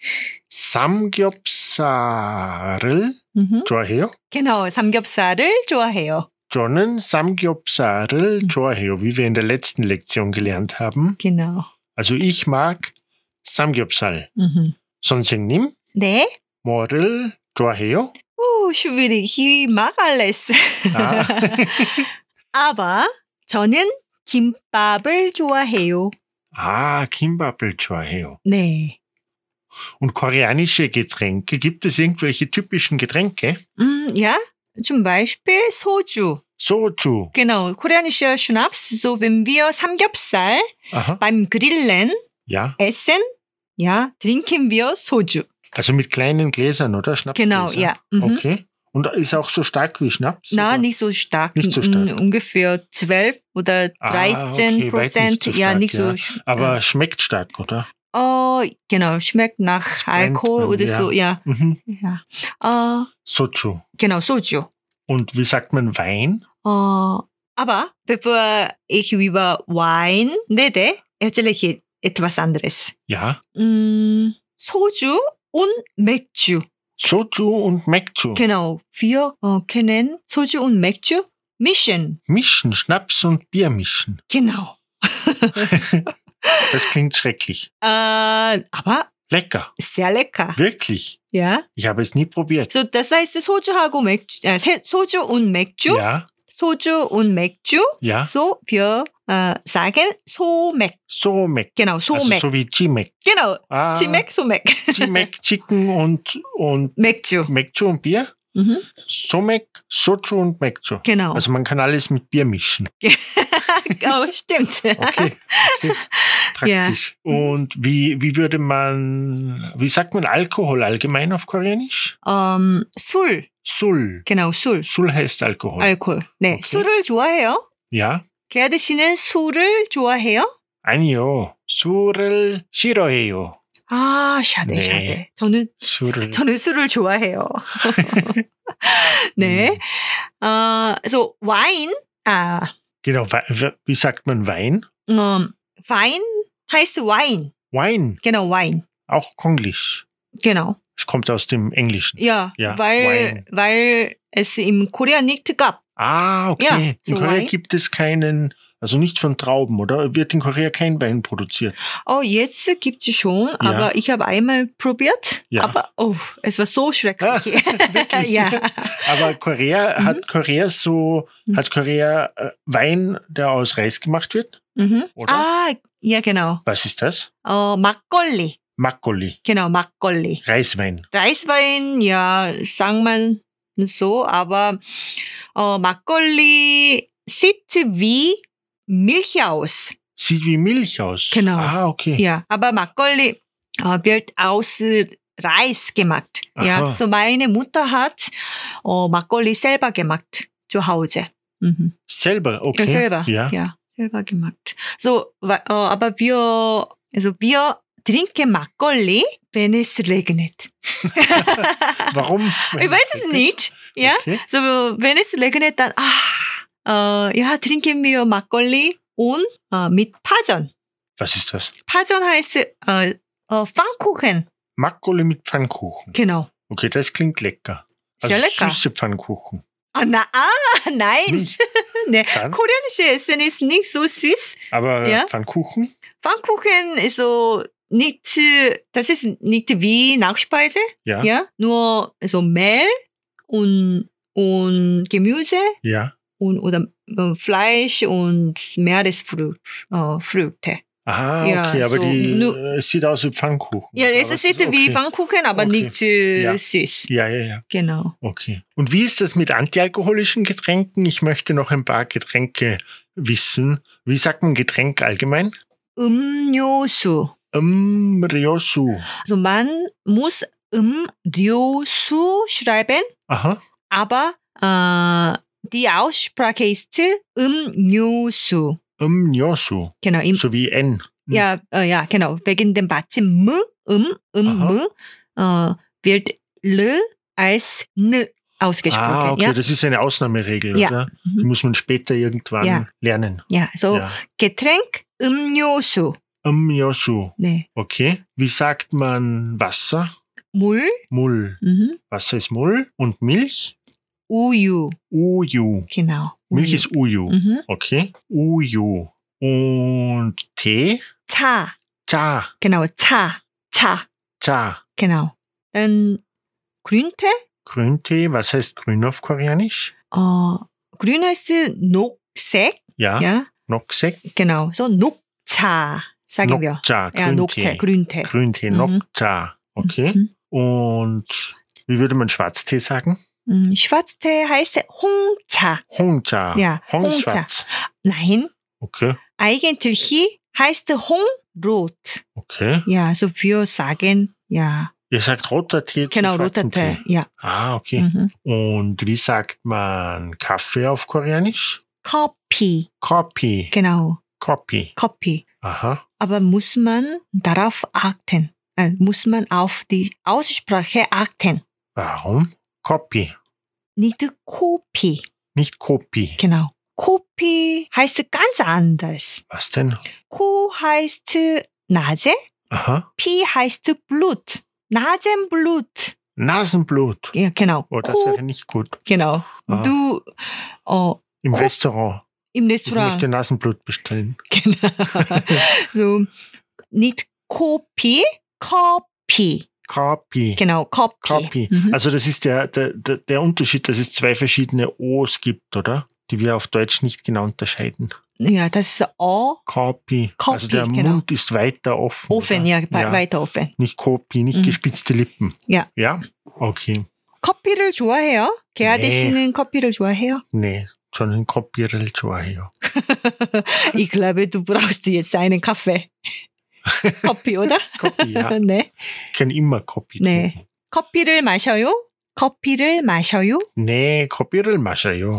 삼겹살을 좋아해요? Genau, 삼겹살을 좋아해요. 저는 삼겹살을 좋아해요, wie wir in der letzten Lektion gelernt haben. Genau. Also ich mag 삼겹살. 선생님, 네. 뭐를 좋아해요? schwierig. Ich mag alles. Ah. Aber 저는 김밥을 좋아해요. Kimbap을 좋아해요. 네. Und koreanische Getränke, gibt es irgendwelche typischen Getränke? Ja, zum Beispiel Soju. Soju. Genau, koreanischer Schnaps. So, wenn wir Samgyeopsal Aha. beim Grillen Ja. essen, ja, trinken wir Soju. Also mit kleinen Gläsern, oder? Schnapsgläser? Genau, ja. Mhm. Okay. Und ist auch so stark wie Schnaps? Na, oder? nicht so stark. Nicht so stark. Ungefähr 12 oder 13%. Okay, weit nicht so ja, stark, nicht ja. so. Aber schmeckt stark, oder? Genau, schmeckt nach Alkohol man, oder ja. so, ja. Mhm. Ja. Soju. Genau, Soju. Und wie sagt man Wein? Aber bevor ich über Wein rede, erzähle ich etwas anderes. Ja. Soju und 맥주. Soju und Mekju. Genau, wir können Soju und 맥주 mischen. Mischen, Schnaps und Bier mischen. Genau. Das klingt schrecklich. Aber Lecker. sehr lecker. Wirklich. Ja. Ich habe es nie probiert. So, das heißt Soju하고 맥주, Soju und 맥주. Ja. Soju und 맥주. Ja. So, wir sagen Somek. Somek. Genau, Also Somek. so wie Chimek. Genau, Chimek, Somek. Chimek, Chicken und 맥주. Mekju und Bier. Mhm. Somek, Soju und Mekju. Genau. Also man kann alles mit Bier mischen. Stimmt. Okay. Praktisch. Ja. Und wie sagt man Alkohol allgemein auf Koreanisch? 술. Sul. genau, 술. 술 heißt Alkohol. 알코올. 네, 오케이. 술을 좋아해요? Ja? 게아드 씨는 술을 좋아해요? 아니요. 술을 싫어해요. 샤네, 네. 샤네. 저는 술을 좋아해요. 네. So Wein, Genau. Wie sagt man Wein? Wein heißt Wein. Wine. Genau, Wein. Auch Konglisch. Genau. Es kommt aus dem Englischen. Ja, Ja, weil es im Korea nicht gab. Okay. Ja, in so Korea Wein. gibt es keinen, also nicht von Trauben, oder? Wird in Korea kein Wein produziert? Jetzt gibt es schon, aber ich habe einmal probiert. Ja. Aber es war so schrecklich. Wirklich? Ja. Aber Korea, hat Korea Wein, der aus Reis gemacht wird? Mhm. Oder? Ja, genau. Was ist das? 막걸리. Makgeolli. Genau, 막걸리. Reiswein. Reiswein, ja, sagt man so, aber 막걸리 sieht wie Milch aus. Sieht wie Milch aus. Genau. Okay. Ja, aber 막걸리 wird aus Reis gemacht. Ja, Aha. so meine Mutter hat 막걸리 selber gemacht zu Hause. Mhm. Selber, okay. Ja, selber. Ja. Ja, selber gemacht. So, aber wir trinken 막걸리, wenn es regnet. Warum? Ich weiß es nicht. Ja, Okay. so wenn es regnet, dann trinken wir 막걸리 und mit 파전. Was ist das? 파전 heißt Pfannkuchen. Makgeolli mit Pfannkuchen. Genau. Okay, das klingt lecker. Also Sehr lecker. süße Pfannkuchen. Nein. Nicht? Nee. Dann? Koreanische Essen ist nicht so süß. Aber Ja. Pfannkuchen? Pfannkuchen ist so nicht, das ist nicht wie Nachspeise. Ja. Ja, nur so Mehl und Gemüse Ja. oder Fleisch und Meeresfrüchte. Ja, okay, aber so es sieht aus wie Pfannkuchen. Ja, Aber es sieht wie Pfannkuchen, aber Okay. nicht Ja. süß. Ja. Genau. Okay. Und wie ist das mit antialkoholischen Getränken? Ich möchte noch ein paar Getränke wissen. Wie sagt man Getränk allgemein? 음료수. Ryosu. Also man muss 음료수 schreiben, Aha. aber die Aussprache ist 음료수. Ryosu. Genau, So wie N. ja, genau. Wegen dem 받침 wird L als N ausgesprochen. Okay, ja? das ist eine Ausnahmeregel, Ja. oder? Die muss man später irgendwann Ja. lernen. Ja, so Ja. Getränk 음료수. Ryosu. 네. Okay. Wie sagt man Wasser? 물, Mull. Wasser ist Mull. Und Milch? 우유. Uju. Genau. Milch 우유. ist Uju. Mhm. Okay. Uju. Und Tee? 차. Cha. Genau, 차. Cha. Genau. Dann Grüntee? Grüntee, was heißt grün auf Koreanisch? grün heißt 녹색. Ja, Ja, Noksek. genau. So 녹차 sagen wir. Nokcha, Ja, 녹차, Grüntee. Grüntee, Mhm. Nokcha. Okay. Mhm. Und wie würde man Schwarztee sagen? Schwarztee heißt 홍차. Hongcha. Ja, Hongschwarz. Nein, Okay. eigentlich heißt 홍rot. Okay. Ja, so wir sagen, ja, Ihr sagt roter Tee zu genau, roter schwarzem Tee. Tee. Ja. Ah, okay. Mhm. Und wie sagt man Kaffee auf Koreanisch? 커피. Kopi. Genau, Kopi. 커피. Aha. Aber muss man darauf achten? Muss man auf die Aussprache achten? Warum? Kopi. Nicht Kopi. Nicht Kopi. Genau. Kopi heißt ganz anders. Was denn? Ko heißt Nase, Aha. Pi heißt Blut. Nasenblut. Nasenblut. Ja, genau. Oh, das Ko- wäre nicht gut. Genau. Ah. Du Im Ko- Restaurant. im Ich Restaurant. möchte Nasenblut bestellen. Genau. So, nicht Kopi, Kopi. Kopi. Genau, Kopi. Kopi. Mhm. Also das ist der Unterschied, dass es zwei verschiedene O's gibt, oder? Die wir auf Deutsch nicht genau unterscheiden. Ja, das ist Kopi. Kopi, Also der genau. Mund ist weiter offen. offen, oder? ja, weiter offen. Nicht Kopi, nicht Mhm. gespitzte Lippen. Ja. Ja? Okay. 커피를 좋아해요? 개아대 네. 씨는 커피를 좋아해요? Nee, 저는 커피를 좋아해요. Ich glaube, du brauchst jetzt einen Kaffee. Kaffee, oder? Kopi, ja. 네. Ich kann immer Kopi 네. trinken. 커피를 마셔요? 커피를 마셔요? Nee, 커피를 마셔요.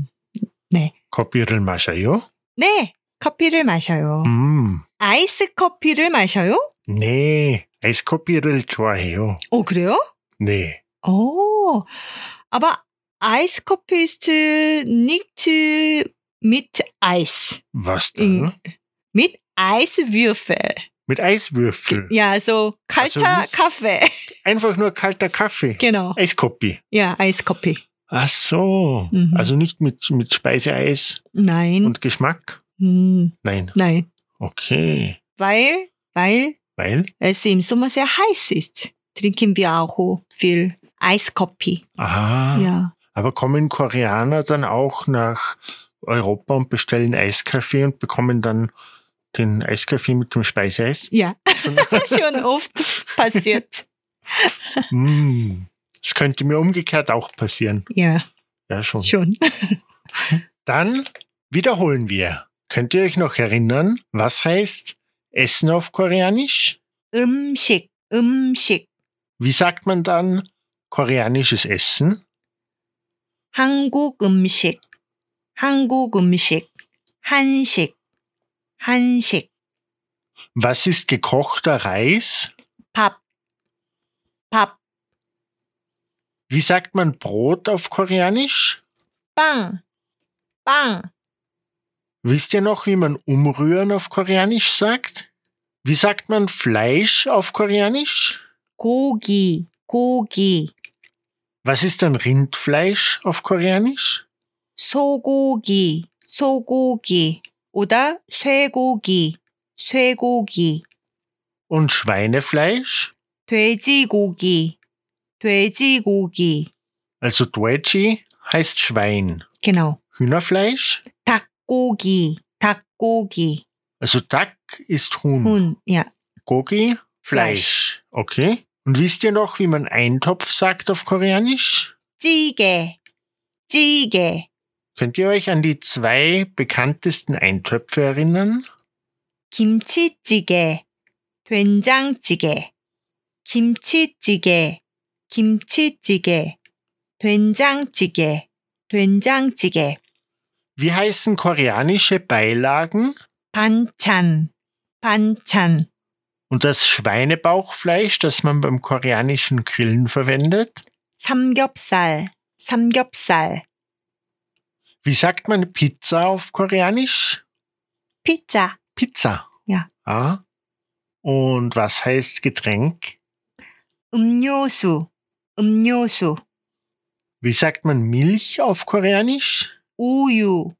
커피를 마셔요? 네, 커피를 마셔요. 아이스 커피를 마셔요? Nee, 아이스커피를 좋아해요. 그래요? Nee. Aber Eiskoffee ist nicht mit Eis. Was dann? Mit Eiswürfel. Mit Eiswürfel. Ja, so kalter nicht- Kaffee. Einfach nur kalter Kaffee. Genau. Eiskopi. Ja, Eiskoffee. Ach so. Mhm. Also nicht mit Speiseeis Nein. und Geschmack? Nein. Nein. Okay. Weil Weil? es im Sommer sehr heiß ist, trinken wir auch viel Eiskoffee. Aha. Ja. Aber kommen Koreaner dann auch nach Europa und bestellen Eiskaffee und bekommen dann den Eiskaffee mit dem Speiseeis? Ja, schon oft passiert. Das könnte mir umgekehrt auch passieren. Ja, Ja, schon. schon. Dann wiederholen wir. Könnt ihr euch noch erinnern, was heißt Essen auf Koreanisch? 음식. Wie sagt man dann koreanisches Essen? 한국 음식. 한식. Was ist gekochter Reis? 밥. Wie sagt man Brot auf Koreanisch? 빵. Wisst ihr noch, wie man umrühren auf Koreanisch sagt? Wie sagt man Fleisch auf Koreanisch? 고기. Was ist dann Rindfleisch auf Koreanisch? 소고기. Oder 쇠고기. Und Schweinefleisch? 돼지고기. Also Doeji heißt Schwein. Genau. Hühnerfleisch? 닭고기. Also Dak ist Huhn. Huhn, ja. Gogi? Fleisch. Okay. Und wisst ihr noch, wie man Eintopf sagt auf Koreanisch? 찌개. Könnt ihr euch an die 2 bekanntesten Eintöpfe erinnern? 김치찌개. 된장찌개. 김치찌개. 된장찌개. Wie heißen koreanische Beilagen? 반찬. Und das Schweinebauchfleisch, das man beim koreanischen Grillen verwendet? 삼겹살. Wie sagt man Pizza auf Koreanisch? 피자. Pizza. Ja. Ah. Und was heißt Getränk? 음료수. Wie sagt man Milch auf Koreanisch? 우유.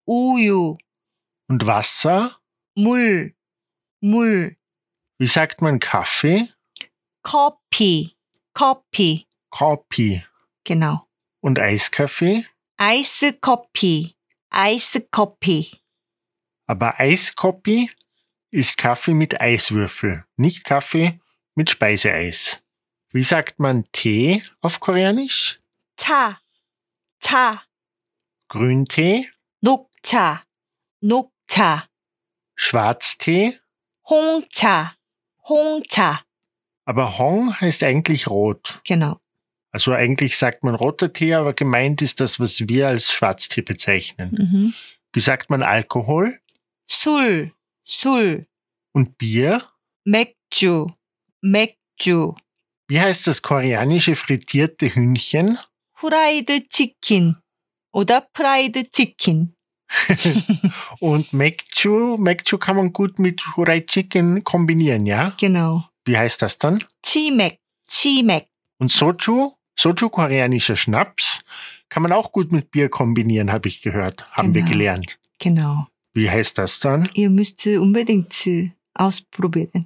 Und Wasser? 물. Wie sagt man Kaffee? 커피. Kopi. Genau. Und Eiskaffee? Eiskoffee. Eiskoffee. Aber Eiskoffee ist Kaffee mit Eiswürfel, nicht Kaffee mit Speiseeis. Wie sagt man Tee auf Koreanisch? 차. 차. Grüntee? 녹차. 녹차. Schwarztee? 홍차. 홍차. Aber Hong heißt eigentlich rot. Genau. Also eigentlich sagt man roter Tee, aber gemeint ist das, was wir als Schwarztee bezeichnen. Mhm. Wie sagt man Alkohol? 술. 술. Und Bier? 맥주. 맥주. Wie heißt das koreanische frittierte Hühnchen? 후라이드 치킨. oder 프라이드 치킨. Und Mekju kann man gut mit Fried Chicken kombinieren, ja? Genau. Wie heißt das dann? 치맥. Und Soju, koreanischer Schnaps, kann man auch gut mit Bier kombinieren, habe ich gehört, haben wir gelernt. Genau. Wie heißt das dann? Ihr müsst unbedingt ausprobieren.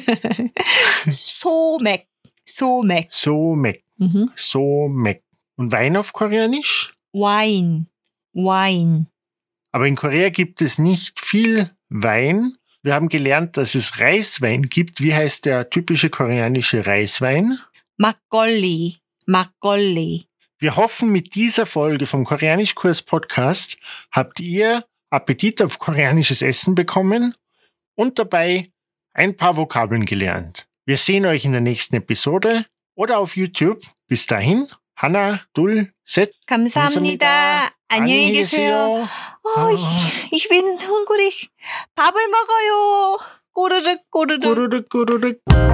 소맥. Mhm. Somek. Und Wein auf Koreanisch? Wine. Aber in Korea gibt es nicht viel Wein. Wir haben gelernt, dass es Reiswein gibt. Wie heißt der typische koreanische Reiswein? 막걸리. Wir hoffen, mit dieser Folge vom Koreanischkurs-Podcast habt ihr Appetit auf koreanisches Essen bekommen und dabei ein paar Vokabeln gelernt. Wir sehen euch in der nächsten Episode oder auf YouTube. Bis dahin, Hanna, Dul, Set. 감사합니다. 안녕히 계세요. Ich bin hungrig. 밥을 먹어요. 꼬르륵. 꾸르륵.